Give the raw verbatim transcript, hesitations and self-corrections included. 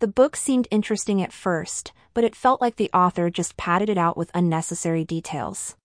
The book seemed interesting at first, but it felt like the author just padded it out with unnecessary details.